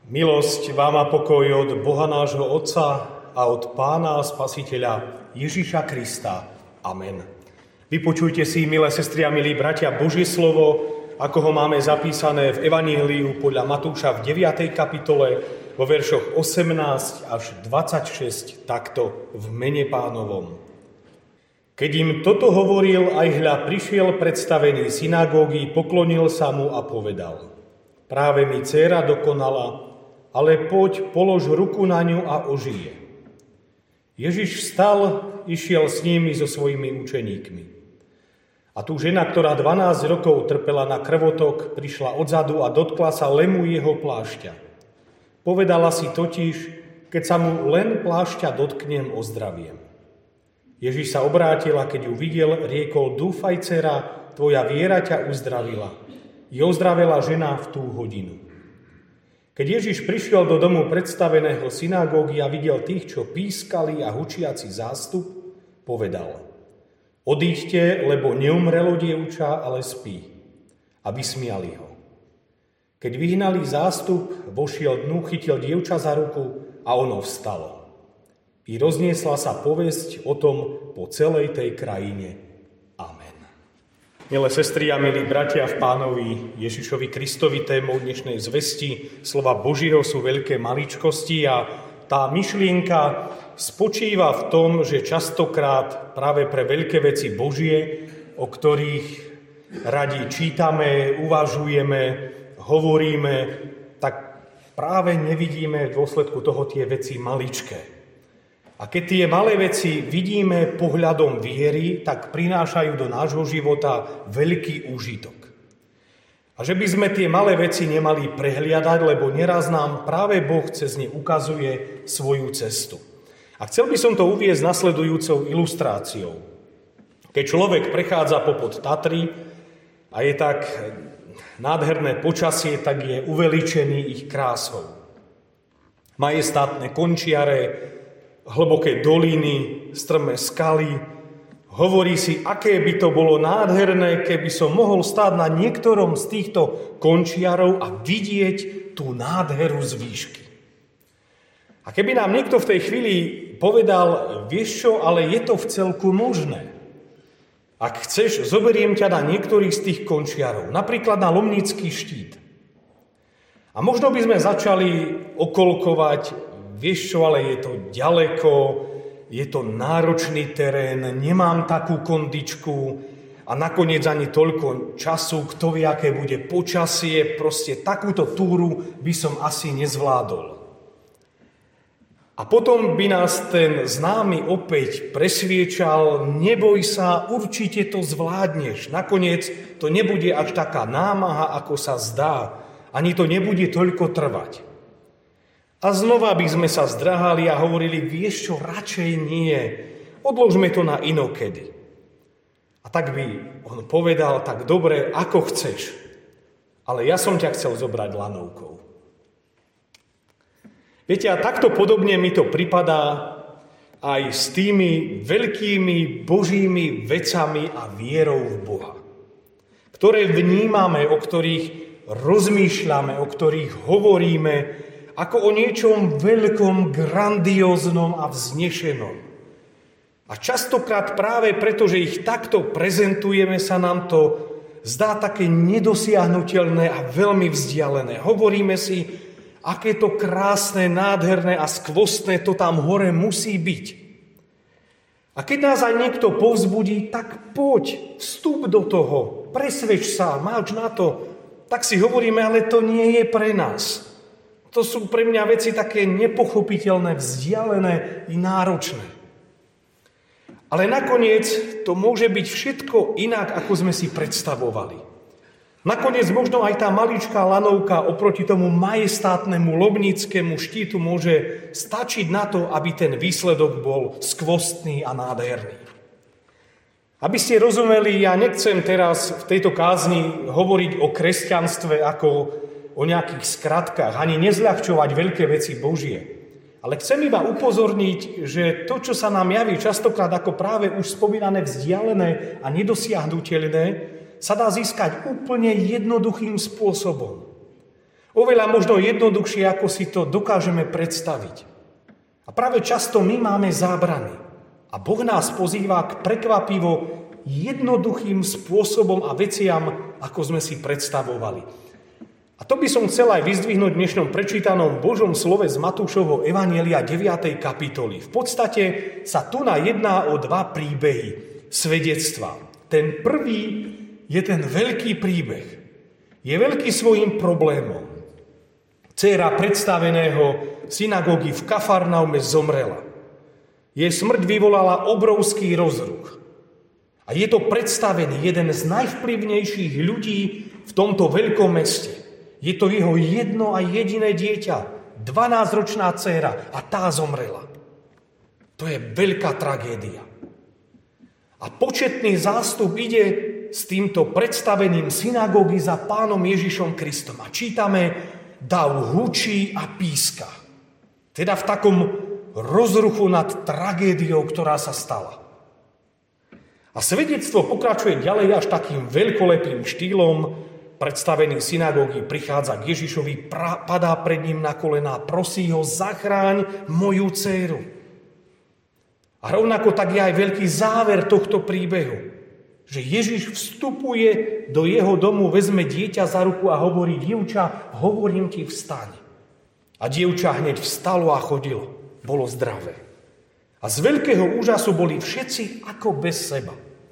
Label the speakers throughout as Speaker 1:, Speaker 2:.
Speaker 1: Milosť vám a pokoj od Boha nášho Otca a od Pána a Spasiteľa Ježiša Krista. Amen. Vypočujte si, milé sestry a milí bratia, Božie slovo, ako ho máme zapísané v Evaníliu podľa Matúša v 9. kapitole vo veršoch 18 až 26, takto v mene Pánovom. Keď im toto hovoril, aj hľa prišiel predstavený synagógy, poklonil sa mu a povedal: Práve mi dcéra dokonala, ale poď, polož ruku na ňu a ožije. Ježiš vstal, išiel s nimi so svojimi učeníkmi. A tu žena, ktorá 12 rokov trpela na krvotok, prišla odzadu a dotkla sa lemu jeho plášťa. Povedala si totiž, keď sa mu len plášťa dotknem, ozdraviem. Ježiš sa obrátil a keď ju videl, riekol: Dúfaj, dcera, tvoja viera ťa uzdravila. I ozdravela žena v tú hodinu. Keď Ježiš prišiel do domu predstaveného synagógy a videl tých, čo pískali a hučiaci zástup, povedal: Odíďte, lebo neumrelo dievča, ale spí. A vysmiali ho. Keď vyhnali zástup, vošiel dnu, chytil dievča za ruku a ono vstalo. I rozniesla sa povesť o tom po celej tej krajine. Amen. Milé sestry a milí bratia v Pánovi Ježišovi Kristovi, témou dnešnej zvesti slova Božieho sú veľké maličkosti a tá myšlienka spočíva v tom, že častokrát práve pre veľké veci Božie, o ktorých radi čítame, uvažujeme, hovoríme, tak práve nevidíme v dôsledku toho tie veci maličké. A keď tie malé veci vidíme pohľadom viery, tak prinášajú do nášho života veľký úžitok. A že by sme tie malé veci nemali prehliadať, lebo neraz nám práve Boh cez ne ukazuje svoju cestu. A chcel by som to uviesť nasledujúcou ilustráciou. Keď človek prechádza popod Tatry a je tak nádherné počasie, tak je uveličený ich krásou. Majestátne končiare, hlboké doliny, strmé skaly. Hovorí si, aké by to bolo nádherné, keby som mohol stáť na niektorom z týchto končiarov a vidieť tú nádheru z výšky. A keby nám niekto v tej chvíli povedal: vieš čo, ale je to vcelku možné. Ak chceš, zoberiem ťa na niektorých z tých končiarov, napríklad na Lomnický štít. A možno by sme začali okolkovať: vieš čo, ale je to ďaleko, je to náročný terén, nemám takú kondičku a nakoniec ani toľko času, kto vie, aké bude počasie, proste takúto túru by som asi nezvládol. A potom by nás ten známy opäť presviečal: neboj sa, určite to zvládneš, nakoniec to nebude až taká námaha, ako sa zdá, ani to nebude toľko trvať. A znova by sme sa zdráhali a hovorili: vieš čo, radšej nie, odložme to na inokedy. A tak by on povedal: tak dobre, ako chceš, ale ja som ťa chcel zobrať lanovkou. Viete, a takto podobne mi to pripadá aj s tými veľkými Božími vecami a vierou v Boha, ktoré vnímame, o ktorých rozmýšľame, o ktorých hovoríme, ako o niečom veľkom, grandióznom a vznešenom. A častokrát práve preto, že ich takto prezentujeme, sa nám to zdá také nedosiahnuteľné a veľmi vzdialené. Hovoríme si, aké to krásne, nádherné a skvostné to tam hore musí byť. A keď nás aj niekto povzbudí, tak poď, vstup do toho, presvedč sa, máš na to, tak si hovoríme, ale to nie je pre nás. To sú pre mňa veci také nepochopiteľné, vzdialené i náročné. Ale nakoniec to môže byť všetko inak, ako sme si predstavovali. Nakoniec možno aj tá maličká lanovka oproti tomu majestátnemu Lomnickému štítu môže stačiť na to, aby ten výsledok bol skvostný a nádherný. Aby ste rozumeli, ja nechcem teraz v tejto kázni hovoriť o kresťanstve ako o nejakých skratkách, ani nezľahčovať veľké veci Božie. Ale chcem iba upozorniť, že to, čo sa nám javí častokrát ako práve už spomínané vzdialené a nedosiahnuteľné, sa dá získať úplne jednoduchým spôsobom. Oveľa možno jednoduchšie, ako si to dokážeme predstaviť. A práve často my máme zábrany. A Boh nás pozýva k prekvapivo jednoduchým spôsobom a veciam, ako sme si predstavovali. A to by som chcel aj vyzdvihnúť v dnešnom prečítanom Božom slove z Matúšovho evanjelia 9. kapitoly. V podstate sa tu jedná o dva príbehy, svedectvá. Ten prvý je ten veľký príbeh. Je veľký svojím problémom. Dcéra predstaveného synagógy v Kafarnaume zomrela. Jej smrť vyvolala obrovský rozruch. A je to predstavený jeden z najvplyvnejších ľudí v tomto veľkom meste. Je to jeho jedno a jediné dieťa, 12-ročná dcéra, a tá zomrela. To je veľká tragédia. A početný zástup ide s týmto predstaveným synagógy za Pánom Ježišom Kristom. A čítame, dav hučí a píska. Teda v takom rozruchu nad tragédiou, ktorá sa stala. A svedectvo pokračuje ďalej až takým veľkolepým štýlom. Predstavený synagógy prichádza k Ježišovi, padá pred ním na kolená, prosí ho, zachráň moju dcéru. A rovnako tak je aj veľký záver tohto príbehu, že Ježiš vstupuje do jeho domu, vezme dieťa za ruku a hovorí, dievča, hovorím ti, vstaň. A dievča hneď vstalo a chodilo. Bolo zdravé. A z veľkého úžasu boli všetci ako bez seba.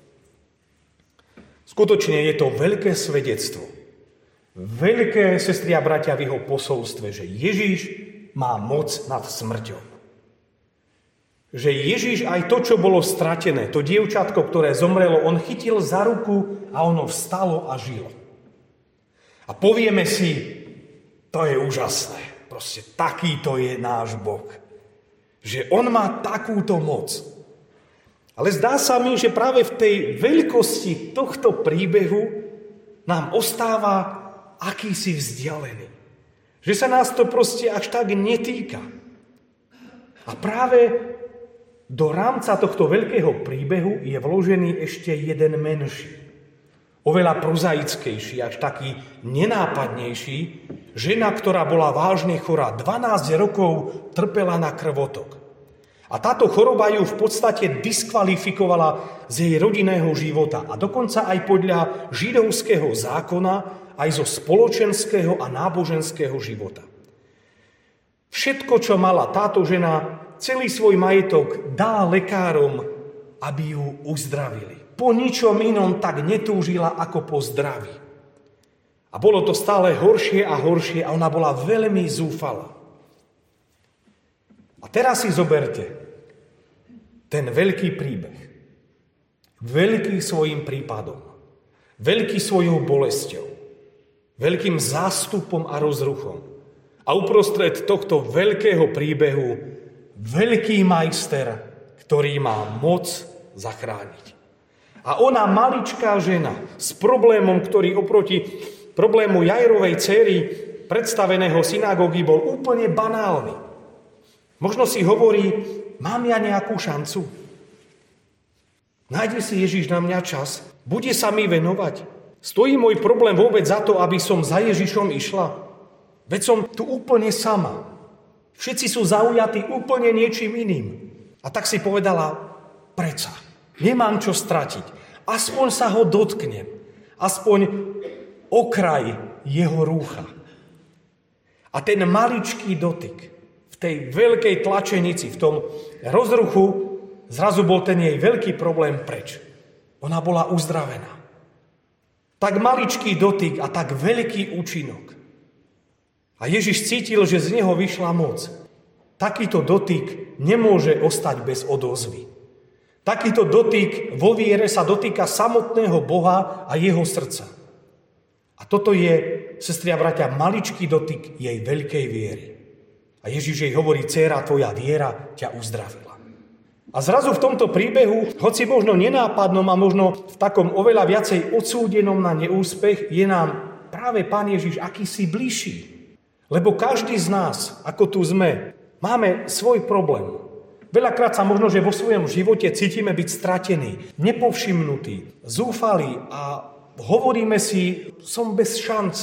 Speaker 1: Skutočne je to veľké svedectvo. Veľké, sestri a bratia, v jeho posolstve, že Ježiš má moc nad smrťou. Že Ježiš aj to, čo bolo stratené, to dievčatko, ktoré zomrelo, on chytil za ruku a ono vstalo a žilo. A povieme si, to je úžasné. Proste takýto je náš Boh. Že on má takúto moc. Ale zdá sa mi, že práve v tej veľkosti tohto príbehu nám ostáva akýsi vzdialený. Že sa nás to proste až tak netýka. A práve do rámca tohto veľkého príbehu je vložený ešte jeden menší. Oveľa prozaickejší, až taký nenápadnejší. Žena, ktorá bola vážne chorá, 12 rokov trpela na krvotok. A táto choroba ju v podstate diskvalifikovala z jej rodinného života. A dokonca aj podľa židovského zákona, aj zo spoločenského a náboženského života. Všetko, čo mala táto žena, celý svoj majetok dala lekárom, aby ju uzdravili. Po ničom inom tak netúžila ako po zdraví. A bolo to stále horšie a horšie a ona bola veľmi zúfalá. A teraz si zoberte ten veľký príbeh. Veľký svojim prípadom. Veľký svojou bolesťou. Veľkým zástupom a rozruchom. A uprostred tohto veľkého príbehu veľký majster, ktorý má moc zachrániť. A ona, maličká žena, s problémom, ktorý oproti problému Jairovej dcéry predstaveného synagógy bol úplne banálny. Možno si hovorí, mám ja nejakú šancu? Nájde si Ježiš na mňa čas? Bude sa mi venovať? Stojí môj problém vôbec za to, aby som za Ježišom išla? Veď som tu úplne sama. Všetci sú zaujatí úplne niečím iným. A tak si povedala, predsa, nemám čo stratiť. Aspoň sa ho dotknem. Aspoň okraj jeho rúcha. A ten maličký dotyk v tej veľkej tlačenici, v tom rozruchu, zrazu bol ten jej veľký problém preč. Ona bola uzdravená. Tak maličký dotyk a tak veľký účinok. A Ježiš cítil, že z neho vyšla moc. Takýto dotyk nemôže ostať bez odozvy. Takýto dotyk vo viere sa dotýka samotného Boha a jeho srdca. A toto je, sestri a bratia, maličký dotyk jej veľkej viery. A Ježiš jej hovorí, dcéra, tvoja viera ťa uzdravila. A zrazu v tomto príbehu, hoci možno nenápadnom a možno v takom oveľa viacej odsúdenom na neúspech, je nám práve Pán Ježiš akýsi bližší. Lebo každý z nás, ako tu sme, máme svoj problém. Veľakrát sa možno, že vo svojom živote cítime byť stratení, nepovšimnutí, zúfalí a hovoríme si, som bez šance,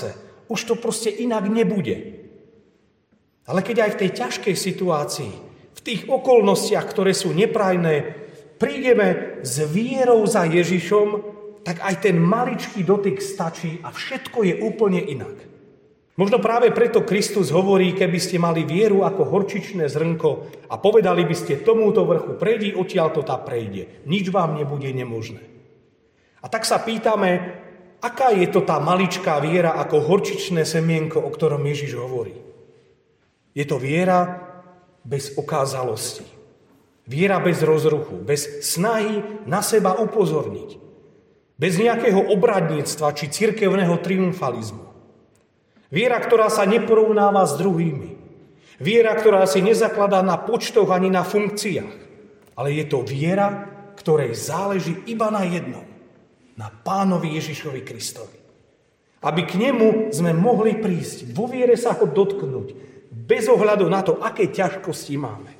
Speaker 1: už to proste inak nebude. Ale keď aj v tej ťažkej situácii, v tých okolnostiach, ktoré sú neprajné, prídeme s vierou za Ježišom, tak aj ten maličký dotyk stačí a všetko je úplne inak. Možno práve preto Kristus hovorí, keby ste mali vieru ako horčičné zrnko a povedali by ste tomuto vrchu, prejdi odtiaľto, tá prejde. Nič vám nebude nemožné. A tak sa pýtame, aká je to tá maličká viera ako horčičné semienko, o ktorom Ježiš hovorí. Je to viera bez okázalosti. Viera bez rozruchu, bez snahy na seba upozorniť. Bez nejakého obradníctva či cirkevného triumfalizmu. Viera, ktorá sa neporovnáva s druhými. Viera, ktorá si nezakladá na počtoch ani na funkciách. Ale je to viera, ktorej záleží iba na jednom. Na Pánovi Ježišovi Kristovi. Aby k nemu sme mohli prísť, vo viere sa ho dotknúť, bez ohľadu na to, aké ťažkosti máme.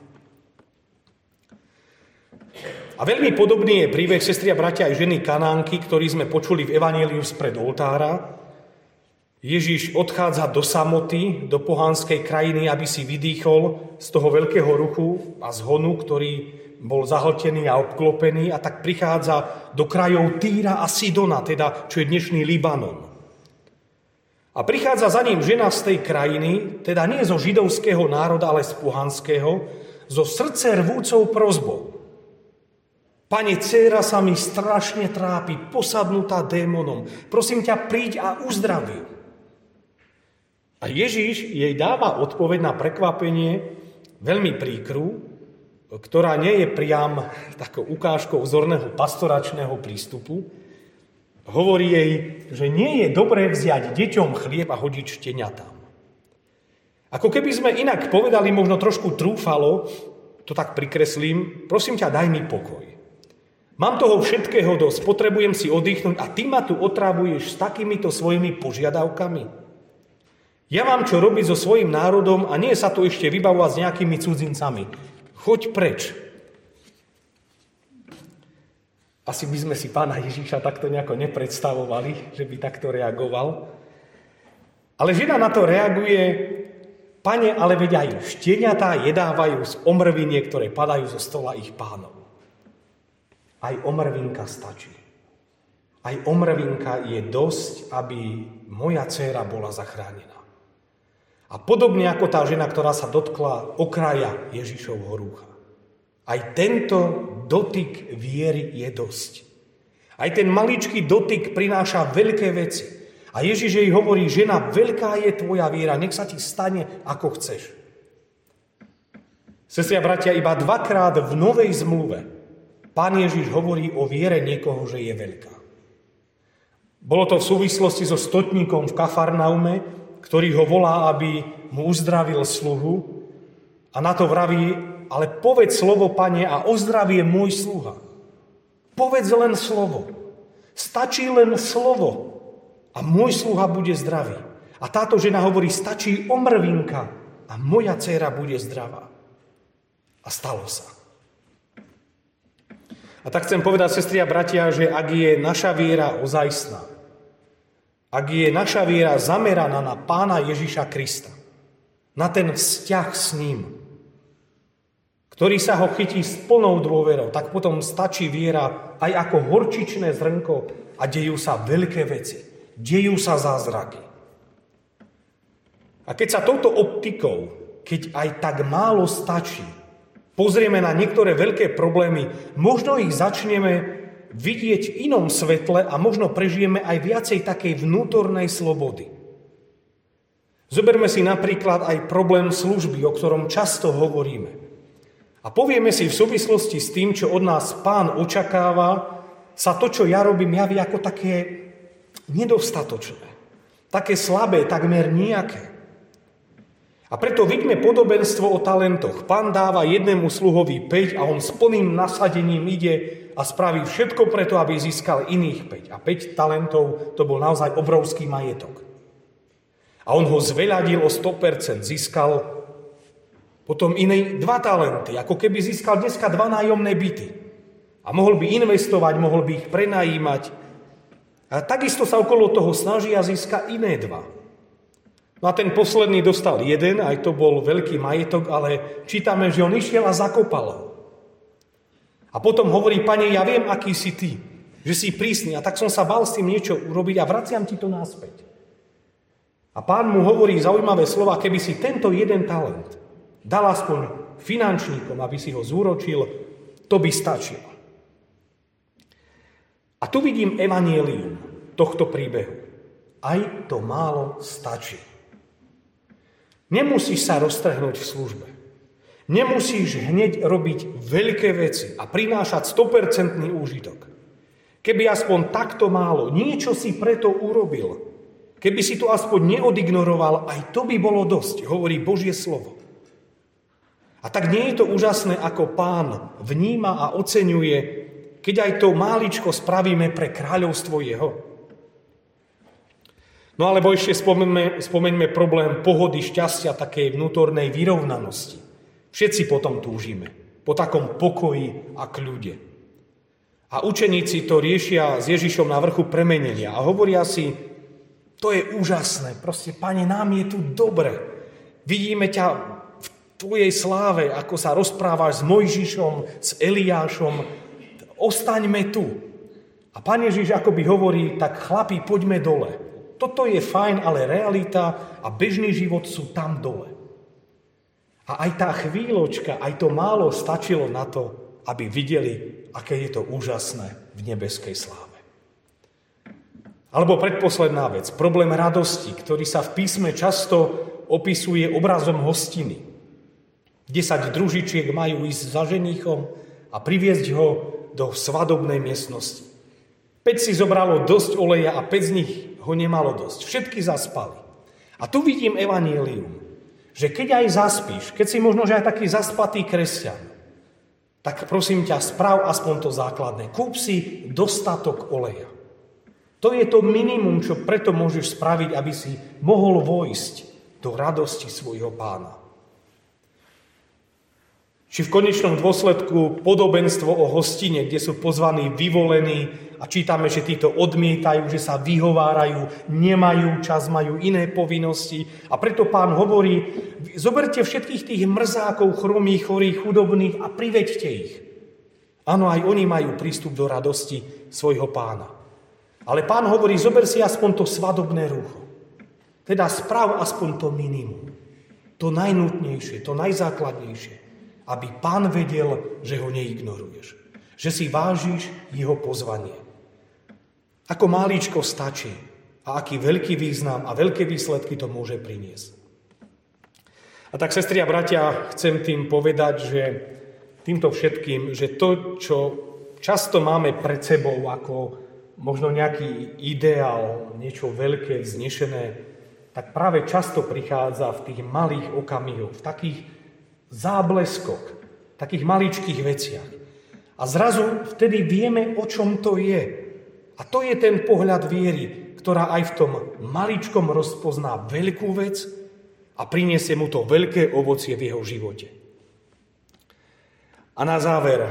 Speaker 1: A veľmi podobný je príbeh sestry a bratia aj ženy Kanánky, ktorý sme počuli v evanjeliu spred oltára. Ježiš odchádza do samoty, do pohanskej krajiny, aby si vydýchol z toho veľkého ruchu a zhonu, ktorý bol zahltený a obklopený, a tak prichádza do krajov Týra a Sidona, teda čo je dnešný Libanon. A prichádza za ním žena z tej krajiny, teda nie zo židovského národa, ale z pohanského, zo srdce rvúcou prosbou. Pane, dcéra sa mi strašne trápi, posadnutá démonom. Prosím ťa, príď a uzdraví. A Ježiš jej dáva odpoveď na prekvapenie veľmi príkru, ktorá nie je priam takou ukážkou vzorného pastoračného prístupu. Hovorí jej, že nie je dobré vziať deťom chlieb a hodiť šteniatám. Ako keby sme inak povedali, možno trošku trúfalo, to tak prikreslím, prosím ťa, daj mi pokoj. Mám toho všetkého dosť, potrebujem si oddychnúť a ty ma tu otrávuješ s takýmito svojimi požiadavkami. Ja mám čo robiť so svojím národom a nie sa tu ešte vybavovať s nejakými cudzincami. Choď preč. Asi by sme si Pána Ježiša takto nejako nepredstavovali, že by takto reagoval. Ale žena na to reaguje, Pane, ale veď aj šteniatá jedávajú z omrviniek, ktoré padajú zo stola ich pánov. Aj omrvinka stačí. Aj omrvinka je dosť, aby moja dcéra bola zachránená. A podobne ako tá žena, ktorá sa dotkla okraja Ježišovho rúcha. Aj tento dotyk viery je dosť. Aj ten maličký dotyk prináša veľké veci. A Ježiš jej hovorí, žena, veľká je tvoja viera, nech sa ti stane, ako chceš. Sestri a bratia, iba dvakrát v Novej zmluve Pán Ježiš hovorí o viere niekoho, že je veľká. Bolo to v súvislosti so stotníkom v Kafarnaume, ktorý ho volá, aby mu uzdravil sluhu, a na to vraví, ale povedz slovo, Pane, a ozdravie môj sluha. Povedz len slovo. Stačí len slovo a môj sluha bude zdravý. A táto žena hovorí, stačí omrvinka a moja dcéra bude zdravá. A stalo sa. A tak chcem povedať, sestri a bratia, že ak je naša viera ozajstná, ak je naša viera zameraná na Pána Ježiša Krista, na ten vzťah s ním, ktorý sa ho chytí s plnou dôverou, tak potom stačí viera aj ako horčičné zrnko a dejú sa veľké veci. Dejú sa zázraky. A keď sa touto optikou, keď aj tak málo stačí, pozrieme na niektoré veľké problémy, možno ich začneme vidieť v inom svetle a možno prežijeme aj viacej takej vnútornej slobody. Zoberme si napríklad aj problém služby, o ktorom často hovoríme. A povieme si v súvislosti s tým, čo od nás Pán očakáva, sa to, čo ja robím, javí ako také nedostatočné. Také slabé, takmer nejaké. A preto vidíme podobenstvo o talentoch. Pán dáva jednému sluhovi 5 a on s plným nasadením ide a spraví všetko preto, aby získal iných 5. A 5 talentov to bol naozaj obrovský majetok. A on ho zveľadil o 100%, získal potom iné 2 talenty, ako keby získal dneska 2 nájomné byty. A mohol by investovať, mohol by ich prenajímať. A takisto sa okolo toho snaží a získa iné 2. No a ten posledný dostal jeden, aj to bol veľký majetok, ale čítame, že on išiel a zakopal ho. A potom hovorí, Pane, ja viem, aký si ty, že si prísny, a tak som sa bál s tým niečo urobiť a vraciam ti to naspäť. A Pán mu hovorí zaujímavé slova, keby si tento jeden talent dal aspoň finančníkom, aby si ho zúročil, to by stačilo. A tu vidím evanjelium tohto príbehu. Aj to málo stačí. Nemusíš sa roztrhnúť v službe. Nemusíš hneď robiť veľké veci a prinášať 100% úžitok. Keby aspoň takto málo, niečo si preto urobil, keby si to aspoň neodignoroval, aj to by bolo dosť, hovorí Božie slovo. A tak nie je to úžasné, ako Pán vníma a oceňuje, keď aj to máličko spravíme pre kráľovstvo jeho. No alebo ešte spomeňme problém pohody, šťastia, takej vnútornej vyrovnanosti. Všetci potom túžime, po takom pokoji a kľude. A učeníci to riešia s Ježišom na vrchu premenenia a hovoria si, to je úžasné, proste, Pane, nám je tu dobre. Vidíme ťa v tvojej sláve, ako sa rozprávaš s Mojžišom, s Eliášom, ostaňme tu. A Pán Ježiš akoby hovorí, tak chlapi, poďme dole. Toto je fajn, ale realita a bežný život sú tam dole. A aj tá chvíľočka, aj to málo stačilo na to, aby videli, aké je to úžasné v nebeskej sláve. Alebo predposledná vec, problém radosti, ktorý sa v písme často opisuje obrazom hostiny. 10 družičiek majú ísť za ženíchom a priviesť ho do svadobnej miestnosti. 5 si zobralo dosť oleja a 5 z nich ho nemalo dosť. Všetky zaspali. A tu vidím evanjelium, že keď aj zaspíš, keď si možno, že aj taký zaspatý kresťan, tak prosím ťa, sprav aspoň to základné. Kúp si dostatok oleja. To je to minimum, čo preto môžeš spraviť, aby si mohol vojsť do radosti svojho Pána. Či v konečnom dôsledku podobenstvo o hostine, kde sú pozvaní vyvolení a čítame, že títo odmietajú, že sa vyhovárajú, nemajú čas, majú iné povinnosti. A preto Pán hovorí, zoberte všetkých tých mrzákov, chromých, chorých, chudobných a priveďte ich. Áno, aj oni majú prístup do radosti svojho Pána. Ale Pán hovorí, zober si aspoň to svadobné rúcho. Teda sprav aspoň to minimum. To najnutnejšie, to najzákladnejšie. Aby Pán vedel, že ho neignoruješ. Že si vážiš jeho pozvanie. Ako máličko stačí a aký veľký význam a veľké výsledky to môže priniesť. A tak, sestri a bratia, chcem tým povedať, že týmto všetkým, že to, čo často máme pred sebou ako možno nejaký ideál, niečo veľké, vznešené, tak práve často prichádza v tých malých okamihoch, v takých zábleskoch, takých maličkých veciach. A zrazu vtedy vieme, o čom to je. A to je ten pohľad viery, ktorá aj v tom maličkom rozpozná veľkú vec a priniesie mu to veľké ovocie v jeho živote. A na záver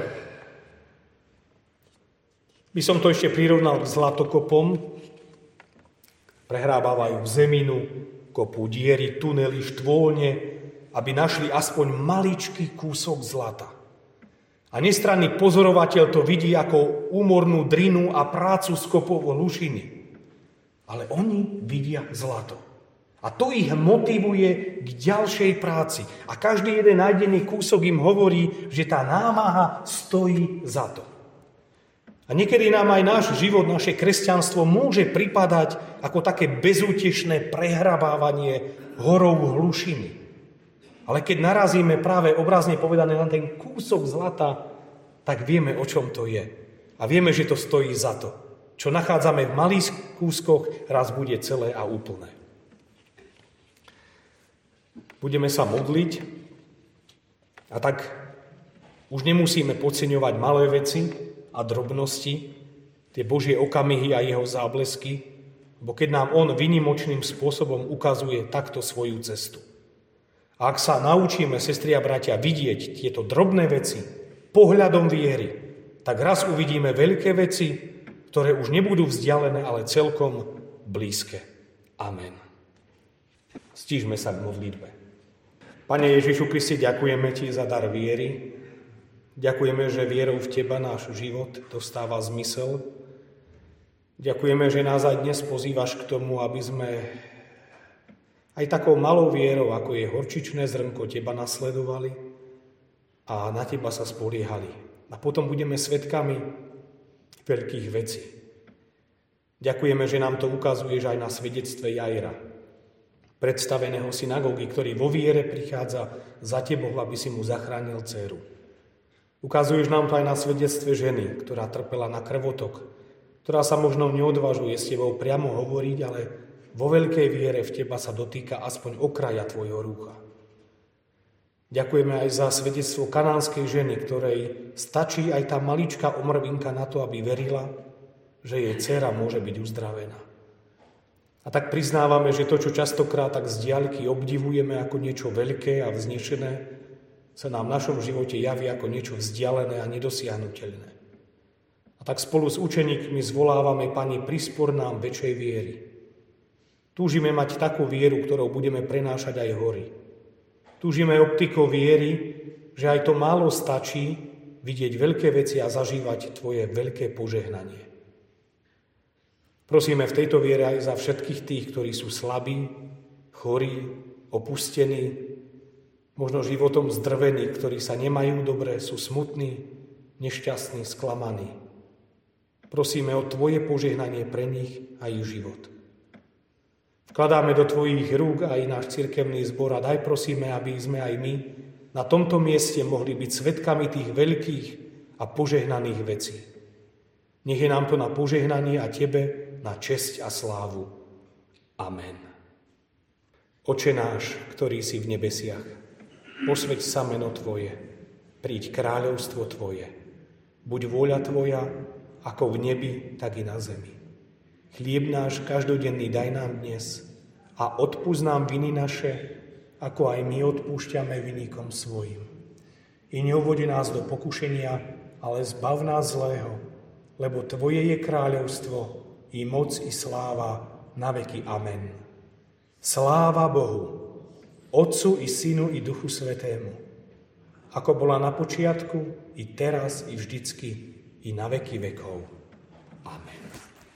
Speaker 1: by som to ešte prirovnal k zlatokopom. Prehrábavajú zeminu, kopú diery, tunely, štôlne, aby našli aspoň maličký kúsok zlata. A nestranný pozorovateľ to vidí ako úmornú drinu a prácu z kopov hlušiny. Ale oni vidia zlato. A to ich motivuje k ďalšej práci. A každý jeden nájdený kúsok im hovorí, že tá námaha stojí za to. A niekedy nám aj náš život, naše kresťanstvo môže pripadať ako také bezútešné prehrabávanie horov hlušiny. Ale keď narazíme práve obrazne povedané na ten kúsok zlata, tak vieme, o čom to je. A vieme, že to stojí za to. Čo nachádzame v malých kúskoch, raz bude celé a úplné. Budeme sa modliť a tak už nemusíme podceňovať malé veci a drobnosti, tie Božie okamihy a jeho záblesky, bo keď nám on výnimočným spôsobom ukazuje takto svoju cestu. A ak sa naučíme, sestri a bratia, vidieť tieto drobné veci pohľadom viery, tak raz uvidíme veľké veci, ktoré už nebudú vzdialené, ale celkom blízke. Amen. Stížme sa k modlitbe. Pane Ježišu Kriste, ďakujeme Ti za dar viery. Ďakujeme, že vierou v Teba náš život dostáva zmysel. Ďakujeme, že nás aj dnes pozývaš k tomu, aby sme aj takou malou vierou, ako je horčičné zrnko, Teba nasledovali a na Teba sa spoliehali. A potom budeme svedkami veľkých vecí. Ďakujeme, že nám to ukazuješ aj na svedectve Jaira, predstaveného synagógy, ktorý vo viere prichádza za Tebou, aby si mu zachránil dcéru. Ukazuješ nám to aj na svedectve ženy, ktorá trpela na krvotok, ktorá sa možno neodvažuje s Tebou priamo hovoriť, ale vo veľkej viere v Teba sa dotýka aspoň okraja Tvojho rúcha. Ďakujeme aj za svedectvo kanánskej ženy, ktorej stačí aj tá maličká omrvinka na to, aby verila, že jej dcéra môže byť uzdravená. A tak priznávame, že to, čo častokrát tak z diaľky obdivujeme ako niečo veľké a vznešené, sa nám v našom živote javí ako niečo vzdialené a nedosiahnuteľné. A tak spolu s učeníkmi zvolávame, Pani, prispor nám väčšej viery. Túžime mať takú vieru, ktorou budeme prenášať aj hory. Túžime optikou viery, že aj to málo stačí vidieť veľké veci a zažívať Tvoje veľké požehnanie. Prosíme v tejto viere aj za všetkých tých, ktorí sú slabí, chorí, opustení, možno životom zdrvení, ktorí sa nemajú dobre, sú smutní, nešťastní, sklamaní. Prosíme o Tvoje požehnanie pre nich a ich život. Vkladáme do Tvojich rúk aj náš cirkevný zbor a daj prosíme, aby sme aj my na tomto mieste mohli byť svedkami tých veľkých a požehnaných vecí. Nech je nám to na požehnanie a Tebe na česť a slávu. Amen. Oče náš, ktorý si v nebesiach, posväť sa meno Tvoje, príď kráľovstvo Tvoje. Buď vôľa Tvoja, ako v nebi, tak i na zemi. Chlieb náš každodenný daj nám dnes a odpusť nám viny naše, ako aj my odpúšťame vinníkom svojim. I neuvodi nás do pokušenia, ale zbav nás zlého, lebo Tvoje je kráľovstvo, i moc, i sláva, na veky. Amen. Sláva Bohu, Otcu, i Synu, i Duchu Svätému, ako bola na počiatku, i teraz, i vždycky, i na veky vekov. Amen.